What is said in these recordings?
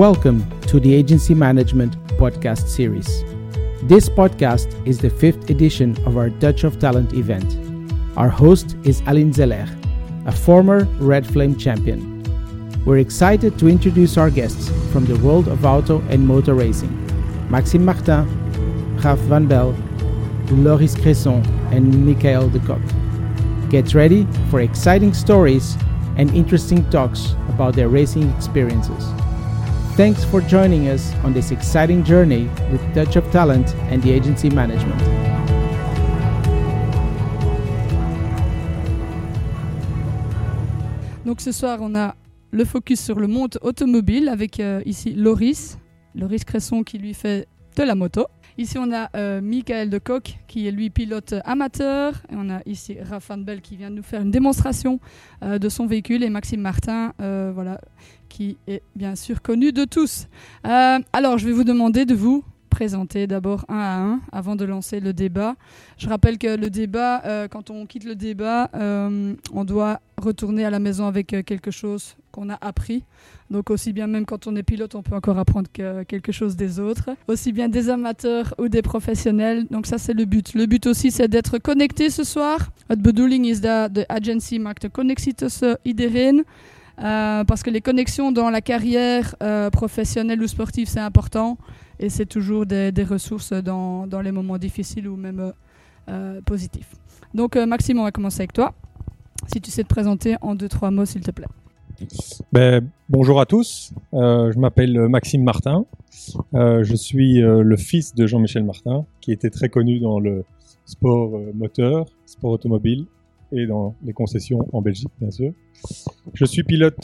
Welcome to the Agency Management podcast series. This podcast is the 5th edition of our Touch of Talent event. Our host is Aline Zeller, a former Red Flame champion. We're excited to introduce our guests from the world of auto and motor racing: Maxime Martin, Raph Van Belle, Loris Cresson, and Michael de Kock. Get ready for exciting stories and interesting talks about their racing experiences. Thanks for joining us on this exciting journey with Touch of Talent and the Agency Management. Donc ce soir, on a le focus sur le monde automobile avec ici Loris Cresson qui lui fait de la moto. Ici, on a Michael de Kock qui est lui pilote amateur. Et on a ici Raph Van Belle qui vient de nous faire une démonstration de son véhicule. Et Maxime Martin, qui est bien sûr connu de tous. Alors, je vais vous demander de vous présenter d'abord un à un avant de lancer le débat. Je rappelle que le débat, quand on quitte le débat, on doit retourner à la maison avec quelque chose qu'on a appris. Donc aussi bien même quand on est pilote, on peut encore apprendre quelque chose des autres. Aussi bien des amateurs ou des professionnels. Donc ça, c'est le but. Le but aussi, c'est d'être connecté ce soir. Het bedoeling is dat de agency maakt de connectie tussen iedereen. Parce que les connexions dans la carrière professionnelle ou sportive, c'est important. Et c'est toujours des ressources dans les moments difficiles ou même positifs. Donc Maxime, on va commencer avec toi. Si tu sais te présenter en 2-3 mots, s'il te plaît. Bonjour à tous, je m'appelle Maxime Martin, je suis le fils de Jean-Michel Martin, qui était très connu dans le sport moteur, sport automobile et dans les concessions en Belgique, bien sûr. Je suis pilote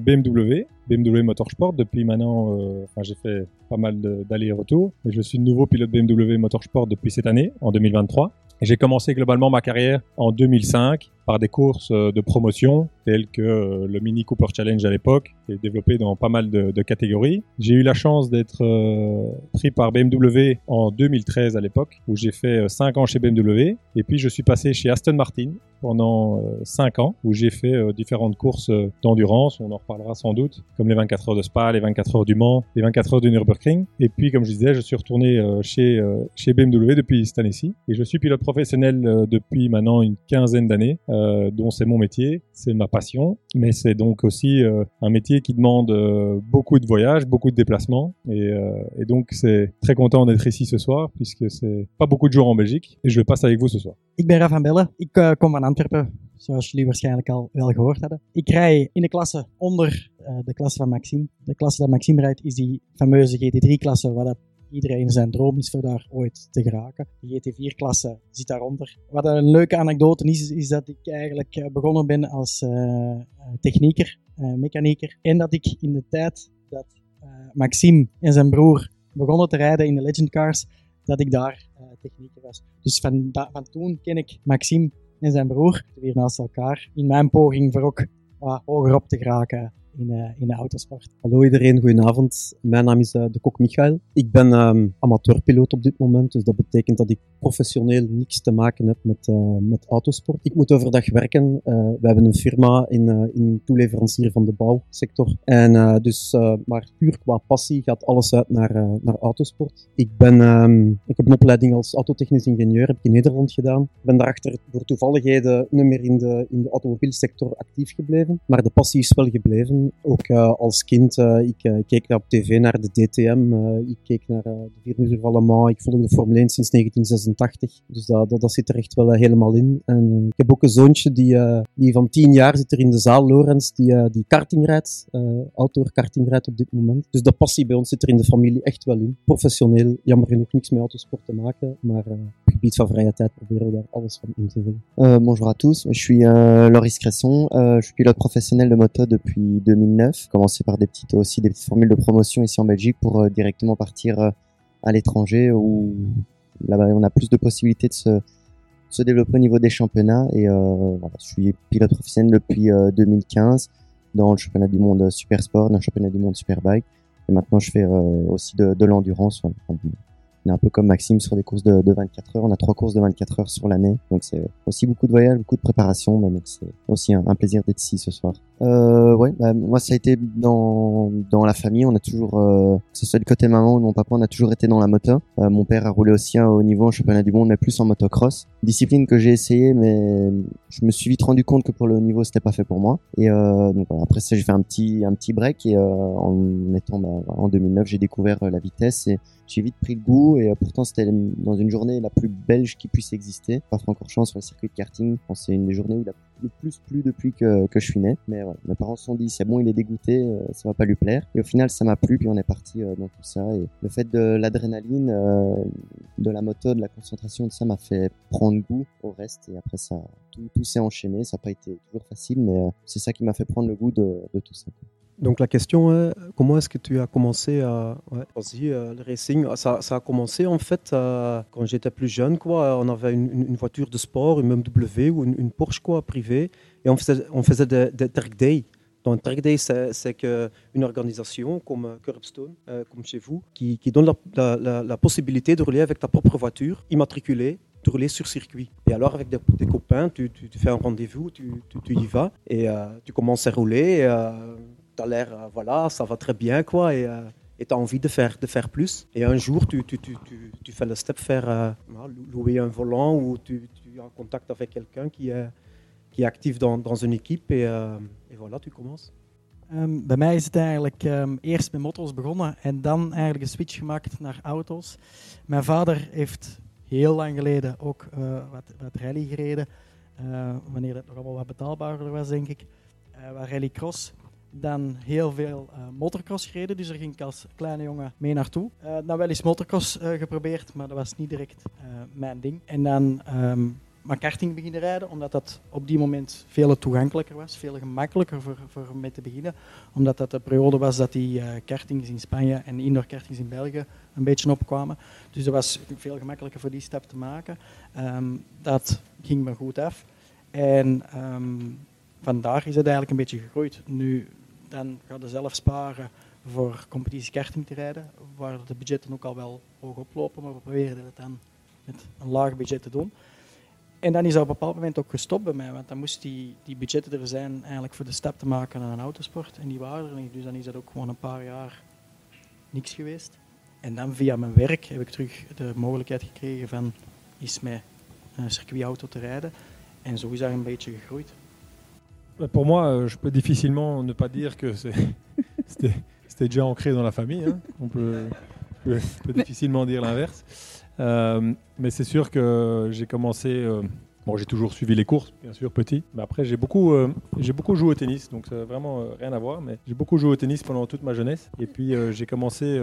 BMW Motorsport depuis maintenant, j'ai fait pas mal d'allers et retours, et je suis nouveau pilote BMW Motorsport depuis cette année, en 2023. Et j'ai commencé globalement ma carrière en 2005 par des courses de promotion telles que le Mini Cooper Challenge à l'époque, qui est développé dans pas mal de catégories. J'ai eu la chance d'être pris par BMW en 2013 à l'époque, où j'ai fait 5 ans chez BMW. Et puis je suis passé chez Aston Martin pendant 5 ans, où j'ai fait différentes courses d'endurance, on en reparlera sans doute, comme les 24 heures de Spa, les 24 heures du Mans, les 24 heures du Nürburgring. Et puis, comme je disais, je suis retourné chez BMW depuis cette année-ci. Et je suis pilote professionnel depuis maintenant une quinzaine d'années, dont c'est mon métier, c'est ma passion. Mais c'est donc aussi un métier qui demande beaucoup de voyages, beaucoup de déplacements. Et donc, c'est très content d'être ici ce soir, puisque c'est pas beaucoup de jours en Belgique. Et je passe avec vous ce soir. Ik ben Raph Van Belle. Ik kom van Antwerpen, zoals jullie waarschijnlijk al wel gehoord hadden. Ik rij in de klasse onder de klasse van Maxime. De klasse dat Maxime rijdt is die fameuze GT3-klasse, waar dat iedereen zijn droom is voor daar ooit te geraken. De GT4-klasse zit daaronder. Wat een leuke anekdote is dat ik eigenlijk begonnen ben als technieker, mechanieker. En dat ik in de tijd dat Maxime en zijn broer begonnen te rijden in de Legend Cars, dat ik daar technieker was. Dus van toen ken ik Maxime en zijn broer weer naast elkaar in mijn poging voor ook hoger op te geraken in de autosport. Hallo iedereen, goedenavond. Mijn naam is de Kock Michael. Ik ben amateurpiloot op dit moment, dus dat betekent dat ik professioneel niks te maken heb met autosport. Ik moet overdag werken. We hebben een firma in toeleverancier van de bouwsector. En maar puur qua passie gaat alles uit naar autosport. Ik heb een opleiding als autotechnisch ingenieur, heb ik in Nederland gedaan. Ik ben daarachter door toevalligheden niet meer in de automobielsector actief gebleven, maar de passie is wel gebleven. Ook als kind, ik keek op tv naar de DTM, ik keek naar de 4 uur van Le Mans, ik volg de Formule 1 sinds 1986, dus dat zit er echt wel helemaal in. En ik heb ook een zoontje die van 10 jaar zit er in de zaal, Lorenz, die karting rijdt, outdoor karting rijdt op dit moment. Dus de passie bij ons zit er in de familie echt wel in. Professioneel, jammer genoeg niks met autosport te maken, maar op het gebied van vrije tijd proberen we daar alles van in te vullen. Bonjour à tous, je suis Loris Cresson, je suis pilote professionnel de moto depuis 2009, commencé par des petites formules de promotion ici en Belgique pour directement partir à l'étranger où là-bas on a plus de possibilités de se développer au niveau des championnats et je suis pilote professionnel depuis 2015 dans le championnat du monde Super Sport, dans le championnat du monde Superbike et maintenant je fais aussi de l'endurance. On est un peu comme Maxime sur des courses de 24 heures. On a 3 courses de 24 heures sur l'année. Donc c'est aussi beaucoup de voyages, beaucoup de préparation. Mais donc c'est aussi un plaisir d'être ici ce soir. Ouais, moi ça a été dans la famille, on a toujours que ce soit du côté maman ou de mon papa, on a toujours été dans la moto. Mon père a roulé aussi à haut niveau en championnat du monde, mais plus en motocross. Discipline que j'ai essayé, mais je me suis vite rendu compte que pour le haut niveau c'était pas fait pour moi. Et donc voilà, après ça j'ai fait un petit break et en 2009 j'ai découvert la vitesse et j'ai vite pris le goût et pourtant c'était dans une journée la plus belge qui puisse exister. Pas Francorchamps sur le circuit de karting. Je pense que c'est une des journées où il a le plus plu depuis que je suis né. Mais ouais, mes parents se sont dit c'est bon, il est dégoûté, ça va pas lui plaire. Et au final ça m'a plu puis on est parti dans tout ça. Et le fait de l'adrénaline, de la moto, de la concentration, de ça m'a fait prendre goût au reste. Et après ça, tout s'est enchaîné. Ça n'a pas été toujours facile, mais c'est ça qui m'a fait prendre le goût de tout ça. Donc la question est, comment est-ce que tu as commencé le racing? Ça a commencé en fait quand j'étais plus jeune, quoi. On avait une voiture de sport, une BMW ou une Porsche, quoi, privée, et on faisait des track days. Donc un track day, c'est une organisation comme Curbstone, comme chez vous, qui donne la possibilité de rouler avec ta propre voiture immatriculée, de rouler sur circuit. Et alors avec des copains, tu fais un rendez-vous, tu y vas et tu commences à rouler. T'as l'air, voilà, ça va très bien, quoi, et tu as envie de faire plus. Et un jour, tu fais le step louer un volant ou tu es en contact avec quelqu'un qui est actief dans une équipe et voilà, tu commences. Bij mij is het eigenlijk eerst met motto's begonnen en dan eigenlijk een switch gemaakt naar auto's. Mijn vader heeft heel lang geleden ook wat rally gereden, wanneer het nog allemaal wat betaalbaarder was, denk ik. Wat rallycross. Dan heel veel motocross gereden, dus daar ging ik als kleine jongen mee naartoe. Dan wel eens motocross geprobeerd, maar dat was niet direct mijn ding. En dan maar karting beginnen rijden, omdat dat op die moment veel toegankelijker was, veel gemakkelijker voor mee te beginnen. Omdat dat de periode was dat die kartings in Spanje en indoor kartings in België een beetje opkwamen. Dus dat was veel gemakkelijker voor die stap te maken. Dat ging me goed af. En vandaar is het eigenlijk een beetje gegroeid. Nu, dan ga je zelf sparen voor competitie karting te rijden, waar de budgetten ook al wel hoog oplopen, maar we proberen het dan met een laag budget te doen. En dan is dat op een bepaald moment ook gestopt bij mij, want dan moest die budgetten er zijn eigenlijk voor de stap te maken naar een autosport. En die waren er niet, dus dan is dat ook gewoon een paar jaar niks geweest. En dan via mijn werk heb ik terug de mogelijkheid gekregen van eens met een circuitauto te rijden. En zo is dat een beetje gegroeid. Pour moi, je peux difficilement ne pas dire que c'était déjà ancré dans la famille. Hein. On peut difficilement dire l'inverse. Mais c'est sûr que j'ai commencé... j'ai toujours suivi les courses, bien sûr, petit. Mais après, j'ai beaucoup joué au tennis, donc ça n'a vraiment rien à voir. Mais j'ai beaucoup joué au tennis pendant toute ma jeunesse. Et puis, j'ai commencé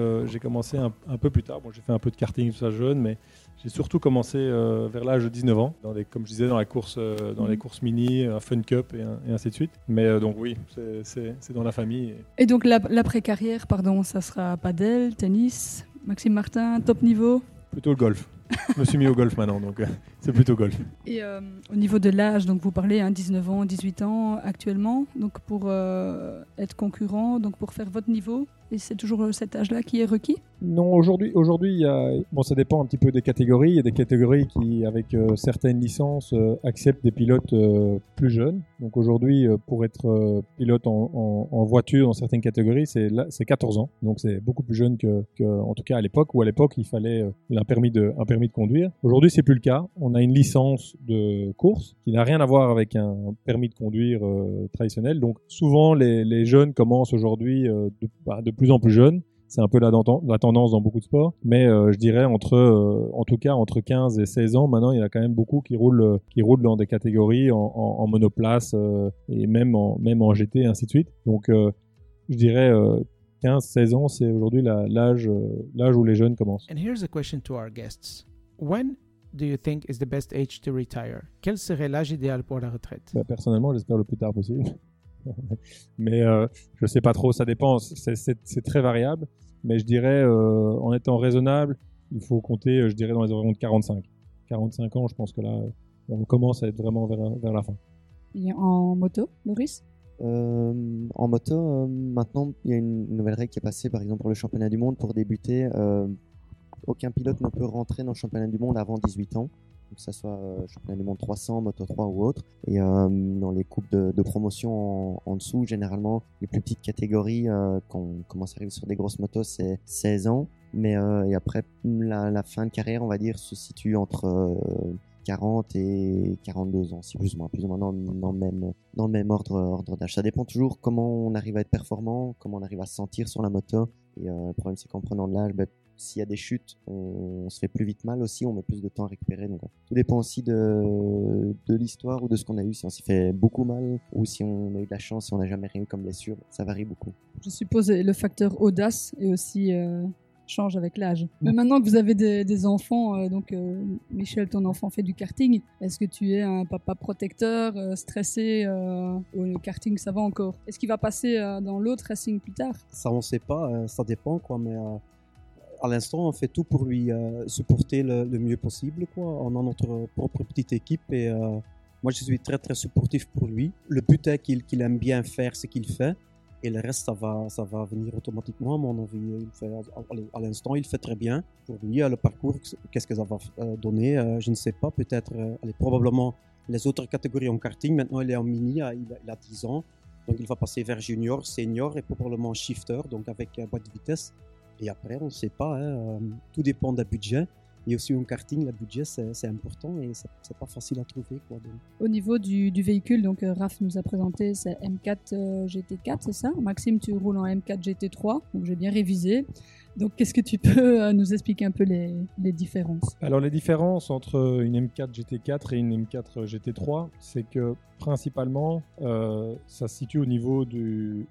un peu plus tard. Bon, j'ai fait un peu de karting, tout ça jeune, mais j'ai surtout commencé vers l'âge de 19 ans, comme je disais, dans les courses mini, un Fun Cup et ainsi de suite. Mais donc oui, c'est dans la famille. Et donc l'après-carrière, ça sera padel, tennis, Maxime Martin, top niveau? Plutôt le golf. Je me suis mis au golf maintenant, donc c'est plutôt golf. Et au niveau de l'âge, donc vous parlez 19 ans, 18 ans actuellement, donc pour être concurrent, donc pour faire votre niveau, et c'est toujours cet âge-là qui est requis? Non, aujourd'hui, ça dépend un petit peu des catégories. Il y a des catégories qui, avec certaines licences, acceptent des pilotes plus jeunes. Donc aujourd'hui, pour être pilote en voiture dans certaines catégories, c'est 14 ans. Donc c'est beaucoup plus jeune en tout cas à l'époque, où à l'époque il fallait un permis de conduire. Aujourd'hui, c'est plus le cas. On a une licence de course qui n'a rien à voir avec un permis de conduire traditionnel. Donc souvent, les jeunes commencent aujourd'hui de plus en plus jeunes. C'est un peu la tendance dans beaucoup de sports. Mais je dirais entre 15 et 16 ans, maintenant, il y en a quand même beaucoup qui roulent dans des catégories en monoplace et même en GT et ainsi de suite. Donc je dirais 15-16 ans, c'est aujourd'hui l'âge où les jeunes commencent. And here's a question to our guests. When do you think is the best age to retire? Quel serait l'âge idéal pour la retraite? Personnellement, j'espère le plus tard possible. Mais je sais pas trop, ça dépend, c'est très variable. Mais je dirais, en étant raisonnable, il faut compter, je dirais, dans les environs de 45. 45 ans, je pense que là, on commence à être vraiment vers la fin. Et en moto, Loris? En moto, maintenant, il y a une nouvelle règle qui est passée, par exemple, pour le championnat du monde. Pour débuter, aucun pilote ne peut rentrer dans le championnat du monde avant 18 ans. que ce soit championnat du monde 300, Moto 3 ou autre. Et dans les coupes de promotion en dessous, généralement, les plus petites catégories, quand on commence à arriver sur des grosses motos, c'est 16 ans. Mais et après, la fin de carrière, on va dire, se situe entre 40 et 42 ans, si plus ou moins dans le même ordre d'âge. Ça dépend toujours comment on arrive à être performant, comment on arrive à se sentir sur la moto. Et le problème, c'est qu'en prenant de l'âge, s'il y a des chutes, on se fait plus vite mal aussi, on met plus de temps à récupérer. Donc, tout dépend aussi de l'histoire ou de ce qu'on a eu. Si on s'est fait beaucoup mal ou si on a eu de la chance, si on n'a jamais rien eu comme blessure, ça varie beaucoup. Je suppose le facteur audace est aussi change avec l'âge. Mais maintenant que vous avez des enfants, Michel, ton enfant fait du karting, est-ce que tu es un papa protecteur, stressé ou le karting ça va encore? Est-ce qu'il va passer dans l'autre racing plus tard? Ça on sait pas, ça dépend quoi, mais à l'instant on fait tout pour lui supporter le mieux possible quoi. On a notre propre petite équipe et moi je suis très très supportif pour lui. Le but est qu'il aime bien faire ce qu'il fait. Et le reste, ça va venir automatiquement, à mon avis. À l'instant, il fait très bien. Pour lui, le parcours, qu'est-ce que ça va donner je ne sais pas. Peut-être, probablement les autres catégories en karting. Maintenant, il est en mini, il a 10 ans. Donc, il va passer vers junior, senior et probablement shifter, donc avec boîte de vitesse. Et après, on ne sait pas. Tout dépend d'un budget. Et aussi en karting, le budget, c'est important et c'est pas facile à trouver, quoi. Donc. Au niveau du véhicule, donc Raph nous a présenté, c'est M4 GT4, c'est ça? Maxime, tu roules en M4 GT3, donc j'ai bien révisé. Donc, qu'est-ce que tu peux nous expliquer un peu les différences? Alors, les différences entre une M4 GT4 et une M4 GT3, c'est que principalement, ça se situe au niveau du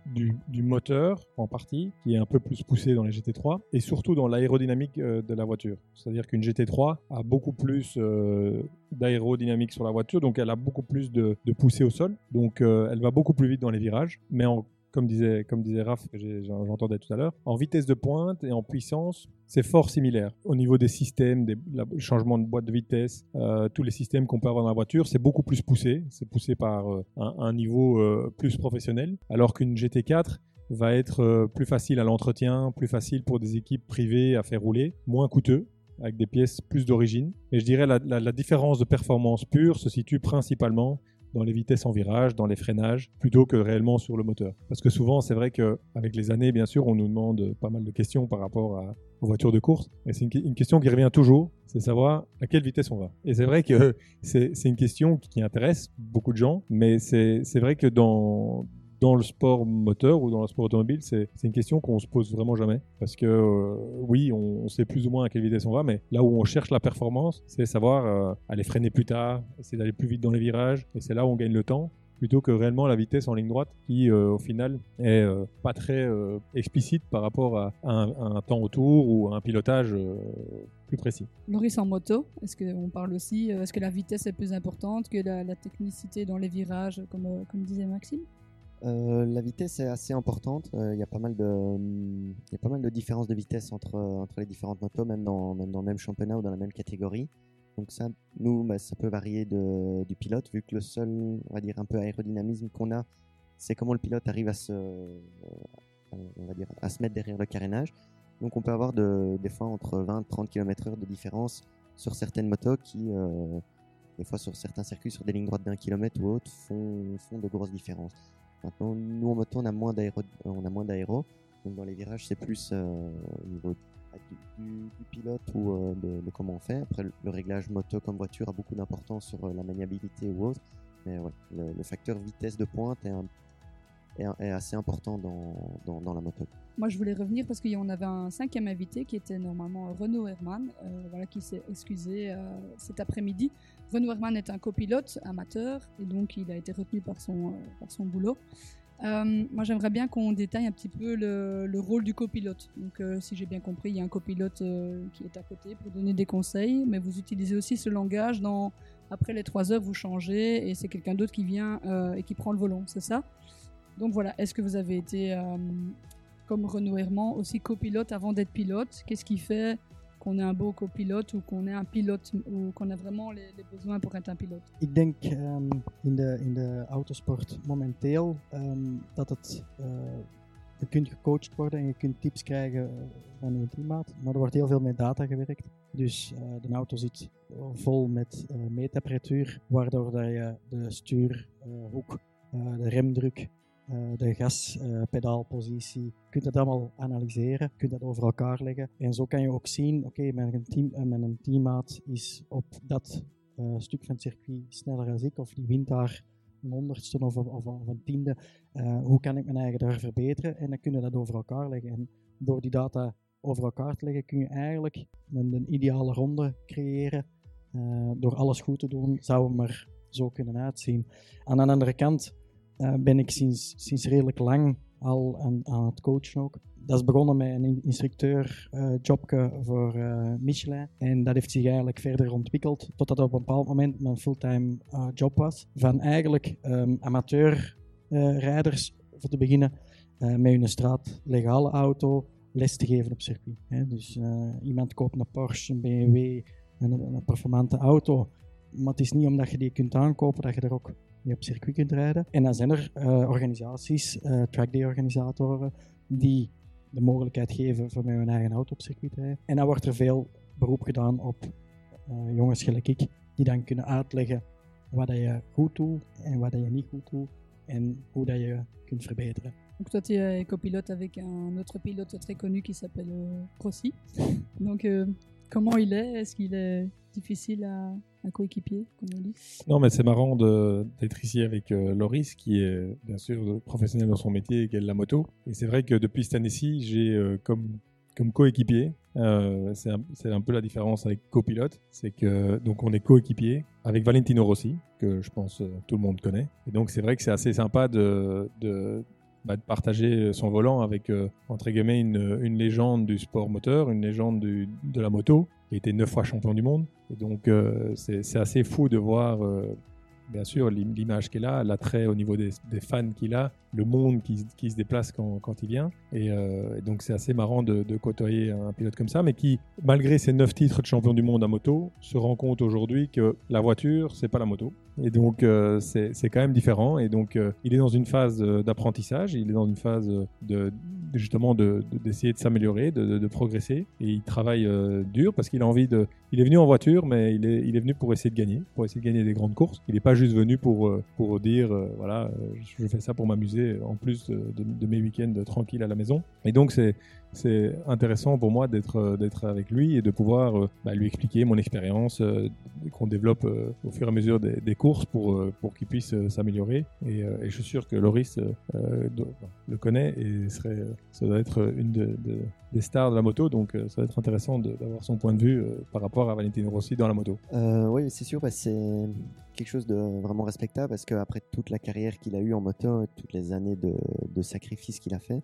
moteur en partie, qui est un peu plus poussé dans les GT3, et surtout dans l'aérodynamique de la voiture. C'est-à-dire qu'une GT3 a beaucoup plus d'aérodynamique sur la voiture, donc elle a beaucoup plus de poussée au sol, donc elle va beaucoup plus vite dans les virages, mais comme disait Raph, que j'entendais tout à l'heure, en vitesse de pointe et en puissance, c'est fort similaire. Au niveau des systèmes, le changement de boîte de vitesse, tous les systèmes qu'on peut avoir dans la voiture, c'est beaucoup plus poussé. C'est poussé par un niveau plus professionnel, alors qu'une GT4 va être plus facile à l'entretien, plus facile pour des équipes privées à faire rouler, moins coûteux, avec des pièces plus d'origine. Et je dirais la différence de performance pure se situe principalement dans les vitesses en virage, dans les freinages, plutôt que réellement sur le moteur. Parce que souvent, c'est vrai qu'avec les années, bien sûr, on nous demande pas mal de questions par rapport aux voitures de course. Et c'est une question qui revient toujours, c'est savoir à quelle vitesse on va. Et c'est vrai que c'est une question qui intéresse beaucoup de gens, mais c'est vrai que dans le sport moteur ou dans le sport automobile, c'est une question qu'on se pose vraiment jamais. Parce que oui, on sait plus ou moins à quelle vitesse on va, mais là où on cherche la performance, c'est savoir aller freiner plus tard, essayer d'aller plus vite dans les virages, et c'est là où on gagne le temps, plutôt que réellement la vitesse en ligne droite, qui au final est pas très explicite par rapport à un temps autour ou à un pilotage plus précis. Loris, en moto, est-ce qu'on parle aussi, est-ce que la vitesse est plus importante que la technicité dans les virages, comme disait Maxime? La vitesse est assez importante. Il y a pas mal de différences de vitesse entre les différentes motos, même dans le même championnat ou dans la même catégorie. Donc ça, ça peut varier du pilote, vu que le seul, on va dire, un peu aérodynamisme qu'on a, c'est comment le pilote arrive à se mettre derrière le carénage. Donc on peut avoir des fois entre 20 et 30 km/h de différence sur certaines motos qui, des fois sur certains circuits, sur des lignes droites d'1 km ou autres, font de grosses différences. Maintenant, nous en moto, on a moins d'aéro. Donc dans les virages, c'est plus au niveau du pilote ou de comment on fait. Après, le réglage moto comme voiture a beaucoup d'importance sur la maniabilité ou autre. Mais ouais, le facteur vitesse de pointe est assez important dans la moto. Moi, je voulais revenir parce qu'on avait un 5e invité qui était normalement Renaud Herman, qui s'est excusé cet après-midi. Renaud Herman est un copilote amateur et donc il a été retenu par son boulot. Moi, j'aimerais bien qu'on détaille un petit peu le rôle du copilote. Donc, si j'ai bien compris, il y a un copilote qui est à côté pour donner des conseils, mais vous utilisez aussi ce langage après les 3 heures, vous changez et c'est quelqu'un d'autre qui vient et qui prend le volant, c'est ça? Donc voilà, est-ce que vous avez été, comme Renaud Herman, aussi copilote avant d'être pilote? Qu'est-ce qui fait qu'on est un beau copilote ou qu'on est un pilote ou qu'on a vraiment les besoins pour être un pilote? Ik denk in de autosport momenteel dat het Je kunt gecoacht worden en je kunt tips krijgen van je teammaat, maar er wordt heel veel met data gewerkt. Dus de auto zit vol met meetapparatuur, waardoor dat je de stuurhoek, de remdruk, de gaspedaalpositie, je kunt dat allemaal analyseren, je kunt dat over elkaar leggen. En zo kan je ook zien, oké, mijn teammaat is op dat stuk van het circuit sneller als ik, of die wint daar een honderdste of een tiende. Hoe kan ik mijn eigen daar verbeteren? En dan kun je dat over elkaar leggen. En door die data over elkaar te leggen, kun je eigenlijk een ideale ronde creëren. Door alles goed te doen, zou hem er zo kunnen uitzien. Aan de andere kant ben ik sinds redelijk lang al aan het coachen ook. Dat is begonnen met een instructeur-jobje voor Michelin. En dat heeft zich eigenlijk verder ontwikkeld, totdat op een bepaald moment mijn fulltime job was. Van eigenlijk amateurrijders, voor te beginnen, met hun straatlegale auto les te geven op circuit. Dus iemand koopt een Porsche, een BMW, een performante auto. Maar het is niet omdat je die kunt aankopen dat je er ook mee op circuit kunt rijden. En dan zijn er organisaties, trackday-organisatoren, die de mogelijkheid geven voor met hun eigen auto op circuit te rijden. En dan wordt er veel beroep gedaan op jongens gelijk ik, die dan kunnen uitleggen wat dat je goed doet en wat dat je niet goed doet en hoe dat je kunt verbeteren. Donc toi, tu es copilote avec un autre pilote très connu qui s'appelle Rossi. Donc comment il est? Est-ce qu'il est difficile à coéquipier, comme on dit? Non, mais c'est marrant d'être ici avec Loris, qui est bien sûr professionnel dans son métier et qui est de la moto. Et c'est vrai que depuis cette année-ci, j'ai comme coéquipier, c'est un peu la différence avec copilote, c'est que donc on est coéquipier avec Valentino Rossi, que je pense tout le monde connaît. Et donc c'est vrai que c'est assez sympa de partager son volant avec, entre guillemets, une légende du sport moteur, une légende de la moto, qui a été 9 fois champion du monde. Et donc, c'est assez fou de voir, bien sûr, l'image qu'il a, l'attrait au niveau des fans qu'il a, le monde qui se déplace quand il vient. Et donc, c'est assez marrant de côtoyer un pilote comme ça, mais qui, malgré ses 9 titres de champion du monde à moto, se rend compte aujourd'hui que la voiture, c'est pas la moto. Et donc, c'est quand même différent. Et donc, il est dans une phase d'apprentissage, il est dans une phase justement d'essayer de s'améliorer, de progresser. Et il travaille dur parce qu'il a envie de... Il est venu en voiture, mais il est venu pour essayer de gagner des grandes courses. Il n'est pas juste venu pour dire, voilà, je fais ça pour m'amuser en plus de mes week-ends tranquilles à la maison. Et donc, c'est intéressant pour moi d'être avec lui et de pouvoir lui expliquer mon expérience qu'on développe au fur et à mesure des courses pour qu'il puisse s'améliorer. Et je suis sûr que Loris le connaît et ça doit être une des stars de la moto, donc ça va être intéressant d'avoir son point de vue par rapport à Valentino Rossi dans la moto. Oui, c'est sûr, c'est quelque chose de vraiment respectable parce qu'après toute la carrière qu'il a eue en moto, toutes les années de sacrifice qu'il a fait,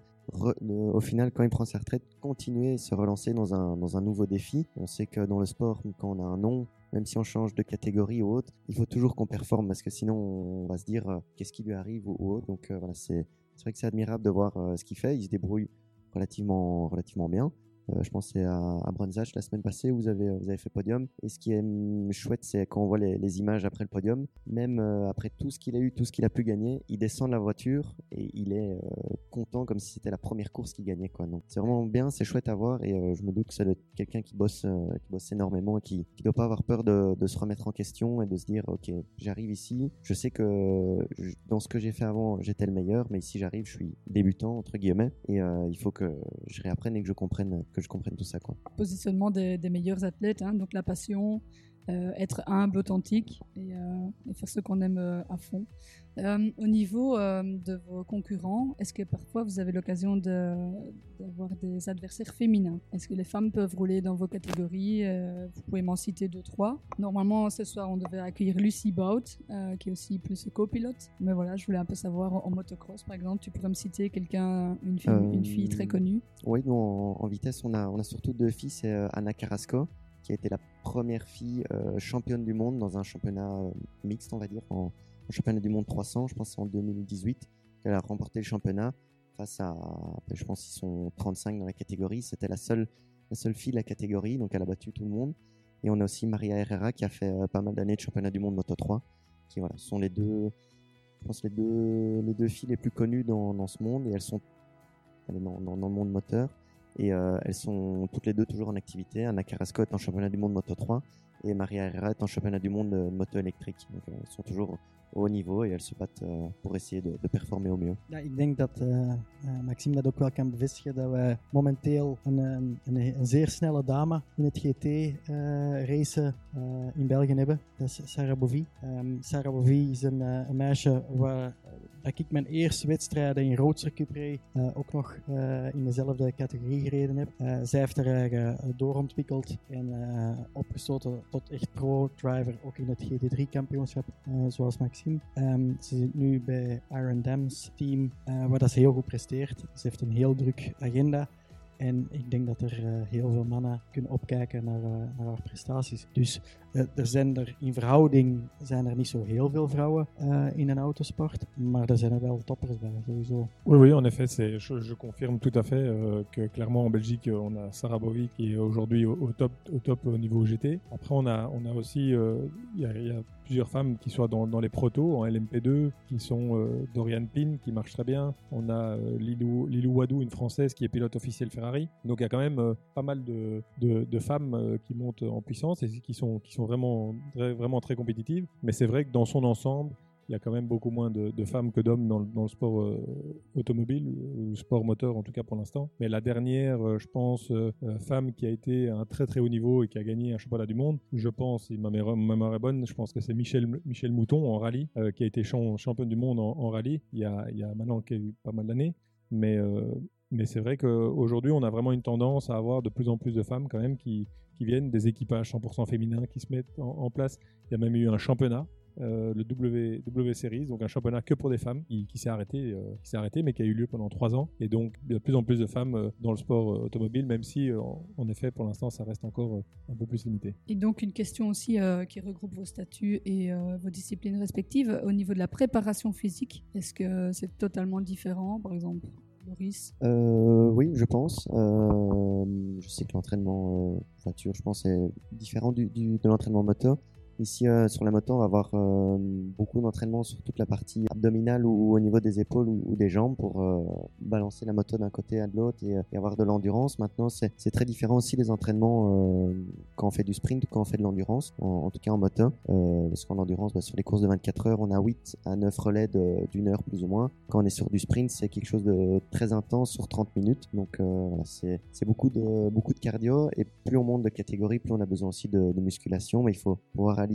au final, quand il prend sa retraite, continuer et se relancer dans un nouveau défi. On sait que dans le sport, quand on a un nom, même si on change de catégorie ou autre, il faut toujours qu'on performe parce que sinon on va se dire qu'est-ce qui lui arrive ou autre. Donc voilà, c'est vrai que c'est admirable de voir ce qu'il fait. Il se débrouille relativement bien. Je pensais à Brunzach la semaine passée où vous avez fait podium. Et ce qui est chouette, c'est quand on voit les images après le podium, même après tout ce qu'il a eu, tout ce qu'il a pu gagner, il descend de la voiture et il est content comme si c'était la première course qu'il gagnait, quoi. Donc c'est vraiment bien, c'est chouette à voir et je me doute que ça doit être quelqu'un qui bosse énormément et qui doit pas avoir peur de se remettre en question et de se dire ok, j'arrive ici, je sais que dans ce que j'ai fait avant, j'étais le meilleur, mais ici j'arrive, je suis débutant entre guillemets et il faut que je réapprenne et que je comprenne tout ça, quoi. Positionnement des meilleurs athlètes, hein, donc la passion, être humble, authentique et faire ce qu'on aime à fond. Au niveau de vos concurrents, est-ce que parfois vous avez l'occasion d'avoir des adversaires féminins? Est-ce que les femmes peuvent rouler dans vos catégories? Vous pouvez m'en citer 2-3. Normalement, ce soir, on devait accueillir Lucy Bout, qui est aussi plus copilote. Mais voilà, je voulais un peu savoir, en motocross, par exemple, tu pourrais me citer quelqu'un, une fille très connue? Oui, nous, en vitesse, on a surtout 2 filles. C'est Anna Carrasco, qui a été la première fille championne du monde dans un championnat mixte, on va dire, en championnat du monde 300, je pense que c'est en 2018 qu'elle a remporté le championnat face à, je pense qu'ils sont 35 dans la catégorie, c'était la seule fille de la catégorie, donc elle a battu tout le monde. Et on a aussi Maria Herrera qui a fait pas mal d'années de championnat du monde Moto 3, qui voilà, sont les deux filles les plus connues dans ce monde et elles sont dans le monde moteur. Et elles sont toutes les deux toujours en activité. Anna Carrasco est en championnat du monde Moto 3 et Maria Herrera est en championnat du monde moto électrique. Donc elles sont toujours au haut niveau et elles se battent pour essayer de performer au mieux. Ja, ik denk dat Maxime dat ook wel kan bevestigen, dat we momenteel een zeer snelle dame in het GT-racen in België hebben. Dat is Sarah Bovy. Sarah Bovy is een meisje waar dat ik mijn eerste wedstrijden in Roadster Cup reed, ook nog in dezelfde categorie gereden heb. Zij heeft haar eigen doorontwikkeld en opgestoten tot echt pro-driver, ook in het GT3-kampioenschap, zoals Maxime. Ze zit nu bij Iron Dam's team, waar dat ze heel goed presteert. Ze heeft een heel druk agenda. En ik denk dat er heel veel mannen kunnen opkijken naar haar prestaties. Dus in verhouding zijn er niet zo heel veel vrouwen in een autosport. Maar er zijn er wel toppers bij, sowieso. Oui, en effet, je confirme tout à fait que clairement en Belgique, on a Sarah Bovy qui est aujourd'hui au top au niveau GT. Après, on a aussi, y a plusieurs femmes qui sont dans les protos, en LMP2, qui sont Dorian Pin, qui marche très bien. On a Lilou Wadou, une Française qui est pilote officielle Ferrari. Donc il y a quand même pas mal de femmes qui montent en puissance et qui sont vraiment très compétitives. Mais c'est vrai que dans son ensemble, il y a quand même beaucoup moins de femmes que d'hommes dans le sport automobile, ou sport moteur en tout cas pour l'instant. Mais la dernière, je pense, femme qui a été à un très très haut niveau et qui a gagné un championnat du monde, je pense, si ma mémoire est bonne, je pense que c'est Michel Mouton en rallye, qui a été championne du monde en rallye il y a maintenant pas mal d'années. Mais c'est vrai qu'aujourd'hui, on a vraiment une tendance à avoir de plus en plus de femmes quand même qui viennent, des équipages 100% féminins qui se mettent en place. Il y a même eu un championnat, le W Series, donc un championnat que pour des femmes qui s'est arrêté, mais qui a eu lieu pendant 3 ans. Et donc, il y a de plus en plus de femmes dans le sport automobile, même si, en effet, pour l'instant, ça reste encore un peu plus limité. Et donc, une question aussi qui regroupe vos statuts et vos disciplines respectives. Au niveau de la préparation physique, est-ce que c'est totalement différent, par exemple Loris? Oui, je pense. Je sais que l'entraînement voiture, je pense, est différent de l'entraînement moto. Ici, sur la moto, on va avoir beaucoup d'entraînement sur toute la partie abdominale ou au niveau des épaules ou des jambes pour balancer la moto d'un côté à de l'autre et avoir de l'endurance. Maintenant, c'est très différent aussi les entraînements quand on fait du sprint ou quand on fait de l'endurance, en tout cas en moto. Parce qu'en endurance, sur les courses de 24 heures, on a 8 à 9 relais d'une heure plus ou moins. Quand on est sur du sprint, c'est quelque chose de très intense sur 30 minutes. Donc voilà, c'est beaucoup de cardio et plus on monte de catégorie, plus on a besoin aussi de musculation. Mais il faut pouvoir allier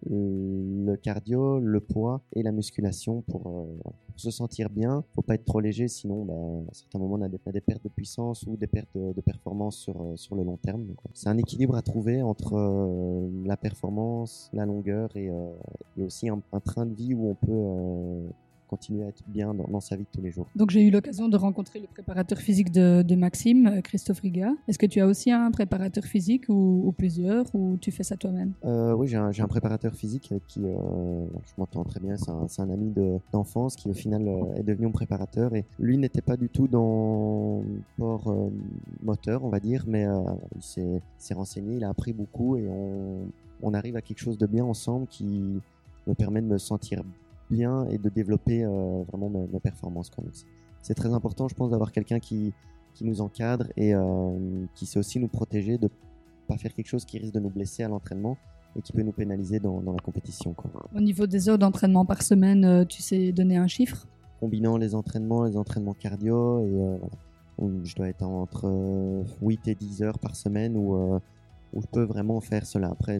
le cardio, le poids et la musculation pour se sentir bien. Faut pas être trop léger, sinon à certains moments on a des pertes de puissance ou des pertes de performance sur le long terme. Donc, c'est un équilibre à trouver entre la performance, la longueur et aussi un train de vie où on peut continuer à être bien dans sa vie de tous les jours. Donc j'ai eu l'occasion de rencontrer le préparateur physique de Maxime, Christophe Riga. Est-ce que tu as aussi un préparateur physique ou plusieurs, ou tu fais ça toi-même? Oui, j'ai un préparateur physique avec qui je m'entends très bien. C'est un ami d'enfance qui au final est devenu mon préparateur, et lui n'était pas du tout dans le sport moteur, on va dire, mais il s'est renseigné, il a appris beaucoup et on arrive à quelque chose de bien ensemble qui me permet de me sentir bien et de développer vraiment mes performances quand même. C'est très important, je pense, d'avoir quelqu'un qui nous encadre et qui sait aussi nous protéger de pas faire quelque chose qui risque de nous blesser à l'entraînement et qui peut nous pénaliser dans la compétition, quoi. Au niveau des heures d'entraînement par semaine, tu sais donner un chiffre? Combinant les entraînements cardio, et je dois être entre 8 et 10 heures par semaine où je peux vraiment faire cela. Après,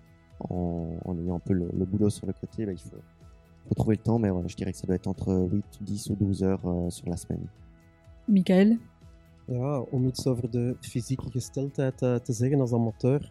en ayant un peu le boulot sur le côté, il faut trouver le temps, mais voilà, je dirais que ça doit être entre 8, 10 ou 12 heures sur la semaine. Michael? Ja, om iets over de fysieke gesteldheid te zeggen als amateur.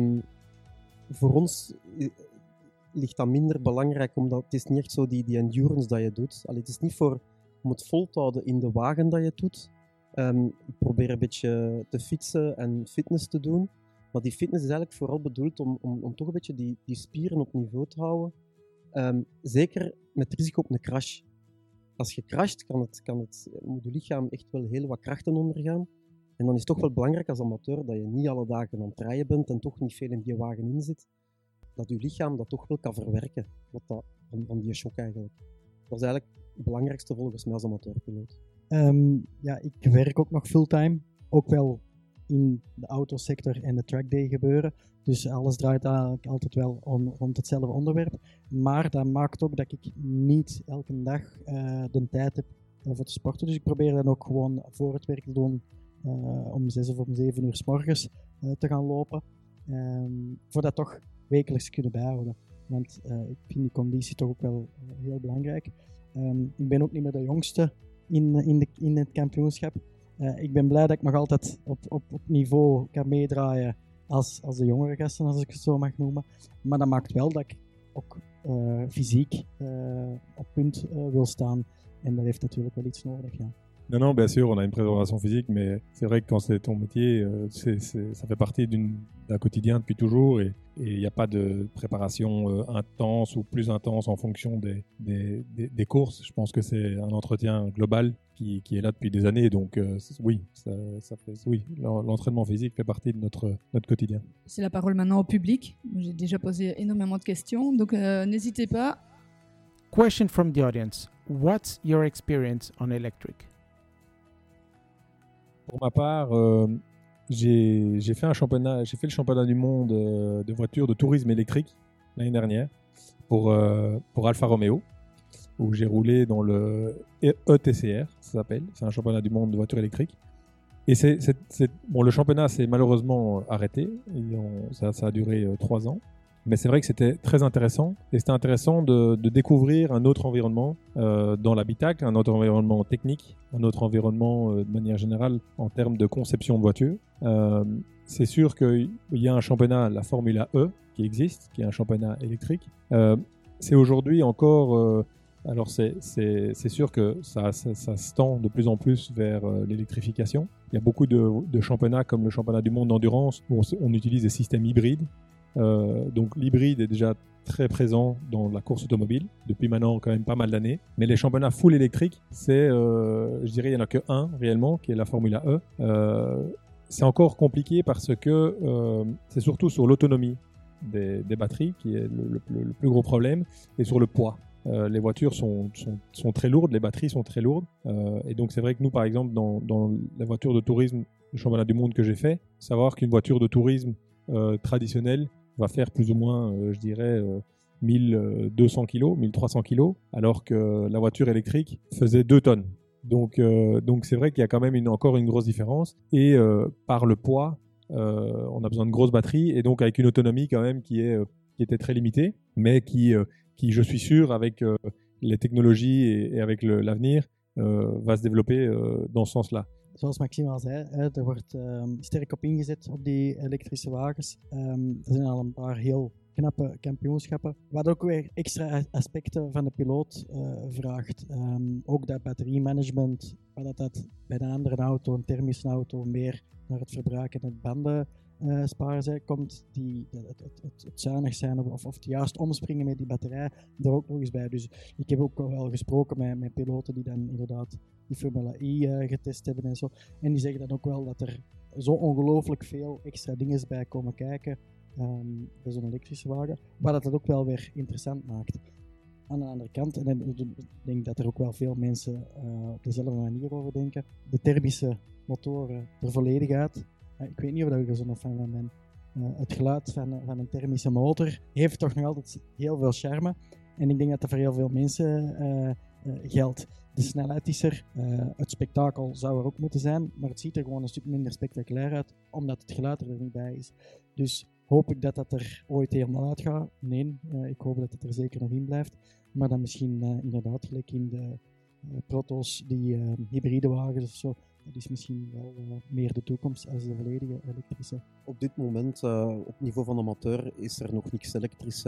Voor ons ligt dat minder belangrijk, omdat het is niet echt zo die endurance dat je doet. Allee, het is niet om het vol te houden in de wagen dat je doet. Ik probeer een beetje te fietsen en fitness te doen. Maar die fitness is eigenlijk vooral bedoeld om toch een beetje die spieren op niveau te houden. Zeker met risico op een crash. Als je crasht, moet je lichaam echt wel heel wat krachten ondergaan. En dan is het toch wel belangrijk als amateur dat je niet alle dagen aan het rijden bent en toch niet veel in die wagen in zit. Dat je lichaam dat toch wel kan verwerken, van die shock eigenlijk. Dat is eigenlijk het belangrijkste volgens mij als amateurpiloot. Ja, ik werk ook nog fulltime. Ook wel in de autosector en de trackday gebeuren. Dus alles draait eigenlijk altijd wel rond hetzelfde onderwerp. Maar dat maakt ook dat ik niet elke dag de tijd heb voor te sporten. Dus ik probeer dan ook gewoon voor het werk te doen om 6 of om 7 uur 's morgens te gaan lopen. Voor dat toch wekelijks te kunnen bijhouden. Want ik vind die conditie toch ook wel heel belangrijk. Ik ben ook niet meer de jongste in het kampioenschap. Ik ben blij dat ik nog altijd op niveau kan meedraaien als de jongere gasten, als ik het zo mag noemen. Maar dat maakt wel dat ik ook fysiek op punt wil staan. En dat heeft natuurlijk wel iets nodig, ja. Non, bien sûr, on a une préparation physique, mais c'est vrai que quand c'est ton métier, ça fait partie d'un quotidien depuis toujours et il n'y a pas de préparation intense ou plus intense en fonction des courses. Je pense que c'est un entretien global qui est là depuis des années, donc oui, l'entraînement physique fait partie de notre quotidien. C'est la parole maintenant au public. J'ai déjà posé énormément de questions, donc n'hésitez pas. Question from the audience. What's your experience on electric? Pour ma part, j'ai fait le championnat du monde de voitures de tourisme électrique l'année dernière pour Alfa Romeo, où j'ai roulé dans le ETCR, ça s'appelle. C'est un championnat du monde de voitures électriques. Et bon, le championnat s'est malheureusement arrêté. Ça a duré 3 ans. Mais c'est vrai que c'était très intéressant. Et c'était intéressant de découvrir un autre environnement dans l'habitacle, un autre environnement technique, un autre environnement de manière générale en termes de conception de voiture. C'est sûr qu'il y a un championnat, la Formula E, qui existe, qui est un championnat électrique. C'est aujourd'hui encore... alors c'est sûr que ça se tend de plus en plus vers l'électrification. Il y a beaucoup de championnats comme le championnat du monde d'endurance où on utilise des systèmes hybrides. Donc l'hybride est déjà très présent dans la course automobile depuis maintenant quand même pas mal d'années. Mais les championnats full électriques, je dirais il n'y en a que un réellement qui est la Formula E. C'est encore compliqué parce que c'est surtout sur l'autonomie des batteries qui est le plus gros problème et sur le poids. Les voitures sont très lourdes, les batteries sont très lourdes. Et donc c'est vrai que nous par exemple dans la voiture de tourisme du championnat du monde que j'ai fait, savoir qu'une voiture de tourisme traditionnelle va faire plus ou moins, je dirais, 1200 kg, 1300 kg, alors que la voiture électrique faisait 2 tonnes. Donc c'est vrai qu'il y a quand même encore une grosse différence. Et par le poids, on a besoin de grosses batteries, et donc avec une autonomie quand même qui était très limitée, mais qui je suis sûr, avec les technologies et avec l'avenir, va se développer dans ce sens-là. Zoals Maxime al zei, er wordt sterk op ingezet op die elektrische wagens. Er zijn al een paar heel knappe kampioenschappen, wat ook weer extra aspecten van de piloot vraagt. Ook dat batteriemanagement, wat dat bij een andere auto, een thermische auto, meer naar het verbruik en het banden sparen zijn, komt het zuinig zijn of het juist omspringen met die batterij er ook nog eens bij. Dus ik heb ook wel gesproken met piloten die dan inderdaad die Formula E getest hebben en zo. En die zeggen dan ook wel dat er zo ongelooflijk veel extra dingen bij komen kijken bij zo'n elektrische wagen, wat dat ook wel weer interessant maakt. Aan de andere kant, en ik denk dat er ook wel veel mensen op dezelfde manier over denken, de thermische motoren er volledig uit. Ik weet niet of ik er zo'n fan van ben. Het geluid van een thermische motor heeft toch nog altijd heel veel charme. En ik denk dat dat voor heel veel mensen geldt. De snelheid is er, het spektakel zou er ook moeten zijn, maar het ziet er gewoon een stuk minder spectaculair uit, omdat het geluid er niet bij is. Dus hoop ik dat dat er ooit helemaal uit gaat? Nee, ik hoop dat het er zeker nog in blijft. Maar dan misschien inderdaad gelijk in de proto's, die hybride wagens of zo. Dat is misschien wel meer de toekomst als de volledige elektrische. Op dit moment, op niveau van amateur, is er nog niks elektrisch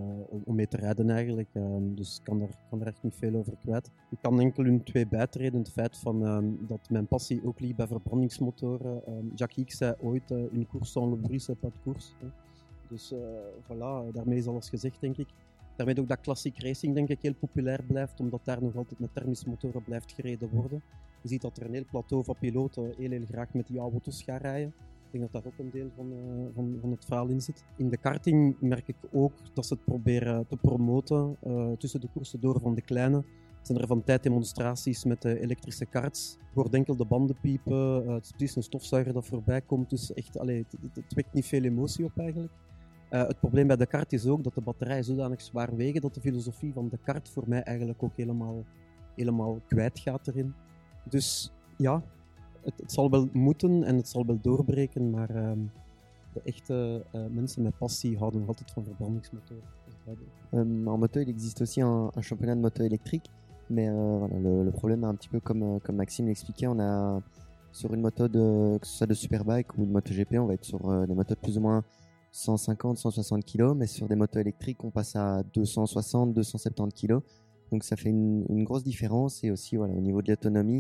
om mee te rijden eigenlijk. Dus ik kan er echt niet veel over kwijt. Ik kan enkel hun 2 bijtreden. Het feit dat mijn passie ook ligt bij verbrandingsmotoren. Jackie X zei ooit, une course sans le bruit, c'est pas de course. Dus voilà, daarmee is alles gezegd, denk ik. Daarmee ook dat classic racing denk ik heel populair blijft, omdat daar nog altijd met thermische motoren blijft gereden worden. Je ziet dat er een heel plateau van piloten heel graag met die oude auto's gaan rijden. Ik denk dat daar ook een deel van het verhaal in zit. In de karting merk ik ook dat ze het proberen te promoten tussen de koersen door van de kleine zijn er van tijd demonstraties met elektrische karts. Je hoort enkel de banden piepen, het is precies een stofzuiger dat voorbij komt. Dus echt, het wekt niet veel emotie op eigenlijk. Het probleem bij de kart is ook dat de batterijen zodanig zwaar wegen dat de filosofie van de kart voor mij eigenlijk ook helemaal kwijt gaat erin. Dus ja, het zal wel moeten en het zal wel doorbreken, maar de echte mensen met passie houden nog altijd van verbrandingsmotoren. En moto, il existe aussi un championnat de moto électrique, mais voilà, le problème est un petit peu comme Maxime l'expliquait, on a sur une moto que ce soit de Superbike ou de MotoGP, on va être sur des motos de plus ou moins 150, 160 kg, mais sur des motos électriques, on passe à 260, 270 kg. Donc ça fait une grosse différence. Et aussi, voilà, au niveau de l'autonomie,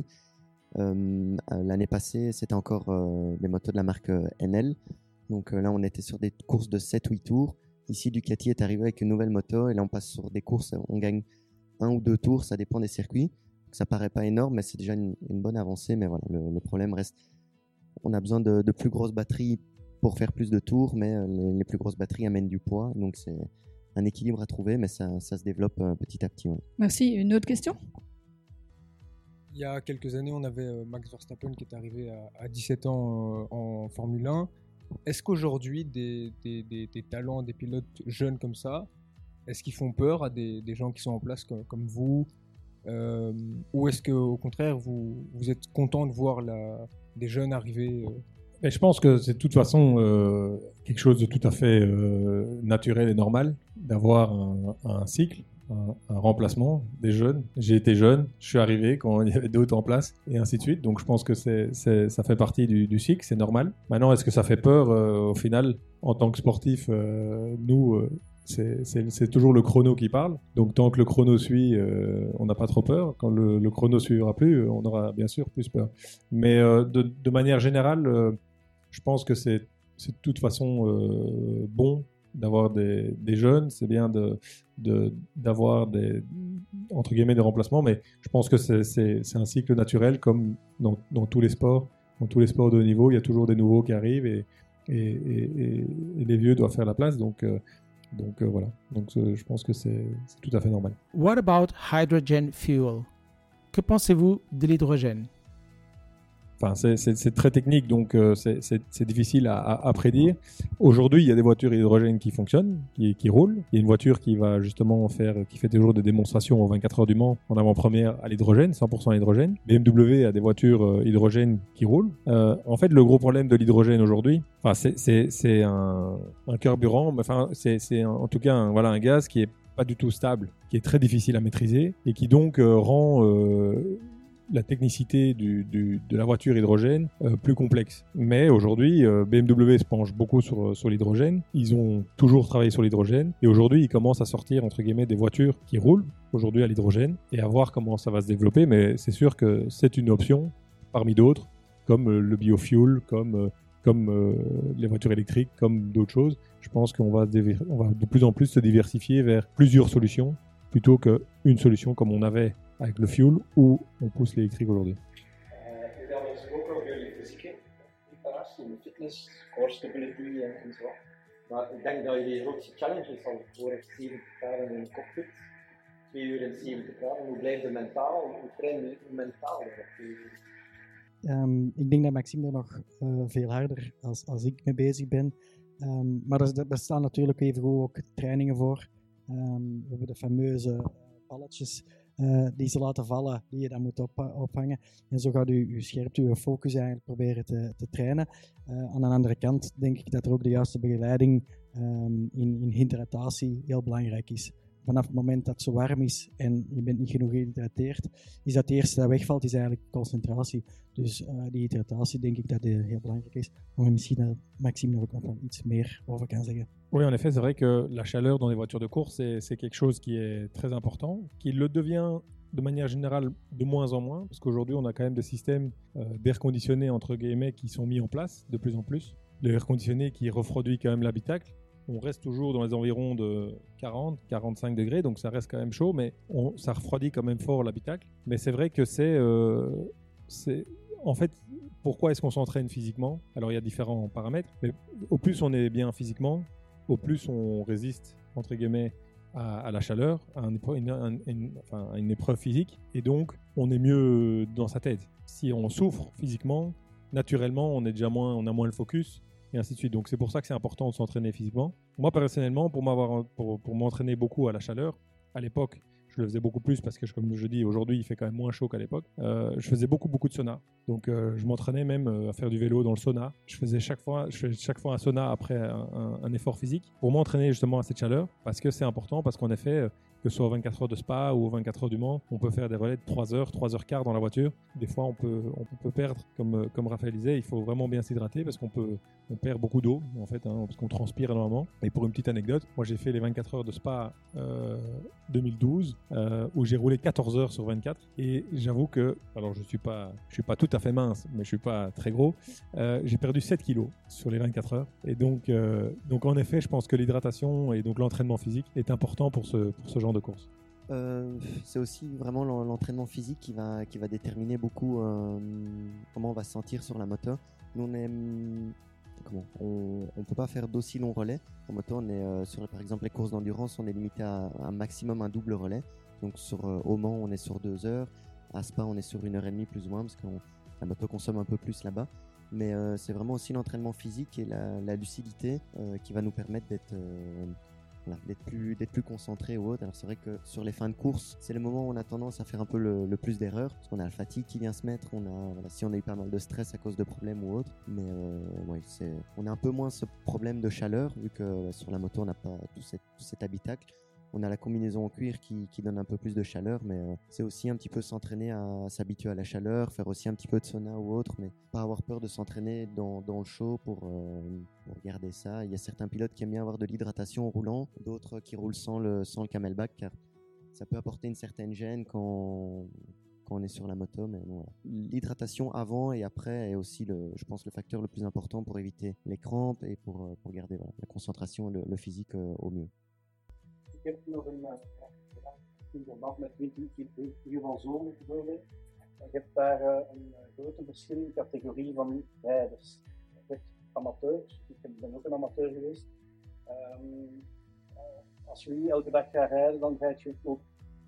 l'année passée, c'était encore les motos de la marque NL. Donc là, on était sur des courses de 7-8 tours. Ici, Ducati est arrivé avec une nouvelle moto. Et là, on passe sur des courses, on gagne 1 ou 2 tours, ça dépend des circuits. Donc, ça paraît pas énorme, mais c'est déjà une bonne avancée. Mais voilà, le problème reste, on a besoin de plus grosses batteries pour faire plus de tours, mais les plus grosses batteries amènent du poids. Donc c'est un équilibre à trouver, mais ça se développe petit à petit. Ouais. Merci. Une autre question? Il y a quelques années, on avait Max Verstappen qui est arrivé à 17 ans en Formule 1. Est-ce qu'aujourd'hui, des talents, des pilotes jeunes comme ça, est-ce qu'ils font peur à des gens qui sont en place comme vous, ou est-ce qu'au contraire, vous êtes content de voir des jeunes arriver Mais je pense que c'est de toute façon quelque chose de tout à fait naturel et normal d'avoir un cycle, un remplacement des jeunes. J'ai été jeune, je suis arrivé quand il y avait d'autres en place et ainsi de suite. Donc je pense que ça fait partie du cycle, c'est normal. Maintenant, est-ce que ça fait peur au final en tant que sportif nous c'est toujours le chrono qui parle. Donc tant que le chrono suit, on n'a pas trop peur. Quand le chrono suivra plus, on aura bien sûr plus peur. Mais de manière générale, je pense que c'est de toute façon bon d'avoir des jeunes. C'est bien d'avoir entre guillemets des remplacements. Mais je pense que c'est un cycle naturel comme dans tous les sports. Dans tous les sports de haut niveau, il y a toujours des nouveaux qui arrivent et les vieux doivent faire la place. Donc voilà, donc je pense que c'est tout à fait normal. What about hydrogen fuel? Que pensez-vous de l'hydrogène? Enfin, c'est très technique, donc c'est difficile à prédire. Aujourd'hui, il y a des voitures hydrogène qui fonctionnent, qui roulent. Il y a une voiture qui va justement qui fait toujours des démonstrations aux 24 heures du Mans en avant-première à l'hydrogène, 100% à l'hydrogène. BMW a des voitures hydrogène qui roulent. En fait, le gros problème de l'hydrogène aujourd'hui, enfin, c'est un carburant, enfin, c'est en tout cas un gaz qui est pas du tout stable, qui est très difficile à maîtriser et qui donc rend la technicité de la voiture hydrogène plus complexe. Mais aujourd'hui, BMW se penche beaucoup sur l'hydrogène. Ils ont toujours travaillé sur l'hydrogène et aujourd'hui, ils commencent à sortir entre guillemets des voitures qui roulent aujourd'hui à l'hydrogène et à voir comment ça va se développer. Mais c'est sûr que c'est une option parmi d'autres, comme le biofuel, comme les voitures électriques, comme d'autres choses. Je pense qu'on va de plus en plus se diversifier vers plusieurs solutions plutôt qu'une solution comme on avait avec le fuel ou on pousse l'électrique aujourd'hui. Jullie hadden gesproken over jullie fysieke preparatie, de fitness, core stability en zo. Maar ik denk dat jullie grootste challenges al voor 70 graden in de cockpit, 2 uur in 70 graden. Hoe blijf je mentaal? Hoe train je mentaal daarop? Ik denk dat Maxime er nog veel harder als ik mee bezig ben. Maar er bestaan natuurlijk even ook trainingen voor. We hebben de fameuze balletjes die ze laten vallen, die je dan moet ophangen. En zo gaat je scherpte, je focus eigenlijk proberen te trainen. Aan de andere kant denk ik dat er ook de juiste begeleiding in hydratatie heel belangrijk is. Vanaf het moment dat het zo warm is en je bent niet genoeg gehydrateerd, is dat het eerste dat wegvalt, is eigenlijk concentratie. Dus die hydratatie denk ik dat heel belangrijk is. Maar misschien dat Maxime er ook nog wel iets meer over kan zeggen. Oui, en effet, c'est vrai que la chaleur dans les voitures de course, c'est quelque chose qui est très important, qui le devient de manière générale de moins en moins, parce qu'aujourd'hui, on a quand même des systèmes d'air conditionné, entre guillemets, qui sont mis en place de plus en plus. L'air conditionné qui refroidit quand même l'habitacle. On reste toujours dans les environs de 40, 45 degrés, donc ça reste quand même chaud, mais ça refroidit quand même fort l'habitacle. Mais c'est vrai que c'est en fait, pourquoi est-ce qu'on s'entraîne physiquement? Alors il y a différents paramètres, mais au plus on est bien physiquement, au plus on résiste, entre guillemets, à la chaleur, à une épreuve physique, et donc on est mieux dans sa tête. Si on souffre physiquement, naturellement, on a moins le focus, et ainsi de suite. Donc c'est pour ça que c'est important de s'entraîner physiquement. Moi personnellement, pour m'entraîner beaucoup à la chaleur, à l'époque, je le faisais beaucoup plus parce que, comme je dis, aujourd'hui, il fait quand même moins chaud qu'à l'époque. Je faisais beaucoup de sauna. Donc, je m'entraînais même à faire du vélo dans le sauna. Je fais chaque fois un sauna après un effort physique pour m'entraîner justement à cette chaleur parce que c'est important, parce qu'en effet, que ce soit aux 24 heures de Spa ou aux 24 heures du Mans, on peut faire des relais de 3 heures, 3 heures quart dans la voiture. Des fois, on peut perdre, comme Raphaël disait, il faut vraiment bien s'hydrater parce qu'on perd beaucoup d'eau, en fait, parce qu'on transpire énormément. Et pour une petite anecdote, moi, j'ai fait les 24 heures de Spa 2012, où j'ai roulé 14 heures sur 24. Et j'avoue que, alors je suis pas tout à fait mince, mais je suis pas très gros. J'ai perdu 7 kilos sur les 24 heures. Et donc en effet, je pense que l'hydratation et donc l'entraînement physique est important pour ce genre de course. C'est aussi vraiment l'entraînement physique qui va déterminer beaucoup comment on va se sentir sur la moto. Nous, on peut pas faire d'aussi longs relais. En moto, on est sur par exemple les courses d'endurance, on est limité à un maximum un double relais. Donc au Mans, on est sur 2 heures. À Spa, on est sur 1h30 plus ou moins parce que la moto consomme un peu plus là-bas. Mais c'est vraiment aussi l'entraînement physique et la lucidité qui va nous permettre d'être plus concentré ou autre. Alors c'est vrai que sur les fins de course, c'est le moment où on a tendance à faire un peu le plus d'erreurs parce qu'on a la fatigue qui vient se mettre, si on a eu pas mal de stress à cause de problèmes ou autre, mais on a un peu moins ce problème de chaleur vu que sur la moto on n'a pas tout cet habitacle. On a la combinaison en cuir qui donne un peu plus de chaleur, mais c'est aussi un petit peu s'entraîner à s'habituer à la chaleur, faire aussi un petit peu de sauna ou autre, mais pas avoir peur de s'entraîner dans le chaud pour garder ça. Il y a certains pilotes qui aiment bien avoir de l'hydratation en roulant, d'autres qui roulent sans le camelback, car ça peut apporter une certaine gêne quand on est sur la moto, mais bon, voilà. L'hydratation avant et après est aussi je pense le facteur le plus important pour éviter les crampes et pour garder la concentration, le physique au mieux. Ik heb nog in verband met 20 uur van zomer bijvoorbeeld. Je hebt daar een grote verschillende categorie van rijders. Je hebt amateurs, ik ben ook een amateur geweest. Als je niet elke dag gaat rijden, dan rijd je ook,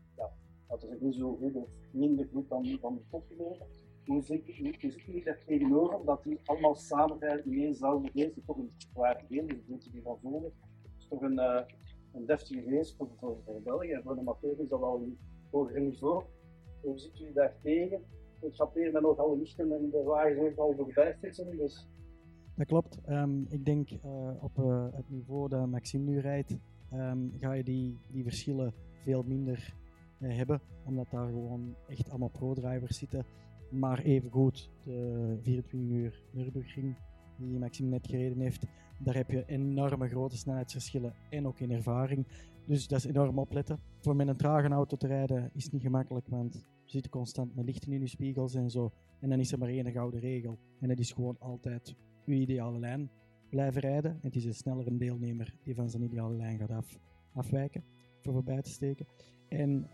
dat is ook niet zo goed of minder goed dan de toppiloten. Hoe zit jullie daar tegenover, dat die allemaal samen rijden in éénzelfde race, die toch een zware game, dus 20 uur van zomer. Dat is toch een deftige race voor België en voor de amateur is dat wel een hoger niveau. Hoe zit jullie daar tegen? Het chaperen met nog alle lichten en de wagens ook al voorbij fietsen. Dus. Dat klopt. Ik denk op het niveau dat Maxime nu rijdt, ga je die verschillen veel minder hebben, omdat daar gewoon echt allemaal pro-drivers zitten. Maar evengoed, de 24 uur Nürburgring die Maxime net gereden heeft, daar heb je enorme grote snelheidsverschillen en ook in ervaring. Dus dat is enorm opletten. Voor met een trage auto te rijden is niet gemakkelijk, want je zit constant met lichten in je spiegels en zo. En dan is er maar één gouden regel. En dat is gewoon altijd je ideale lijn blijven rijden. En het is een snellere deelnemer die van zijn ideale lijn gaat afwijken, voor voorbij te steken. En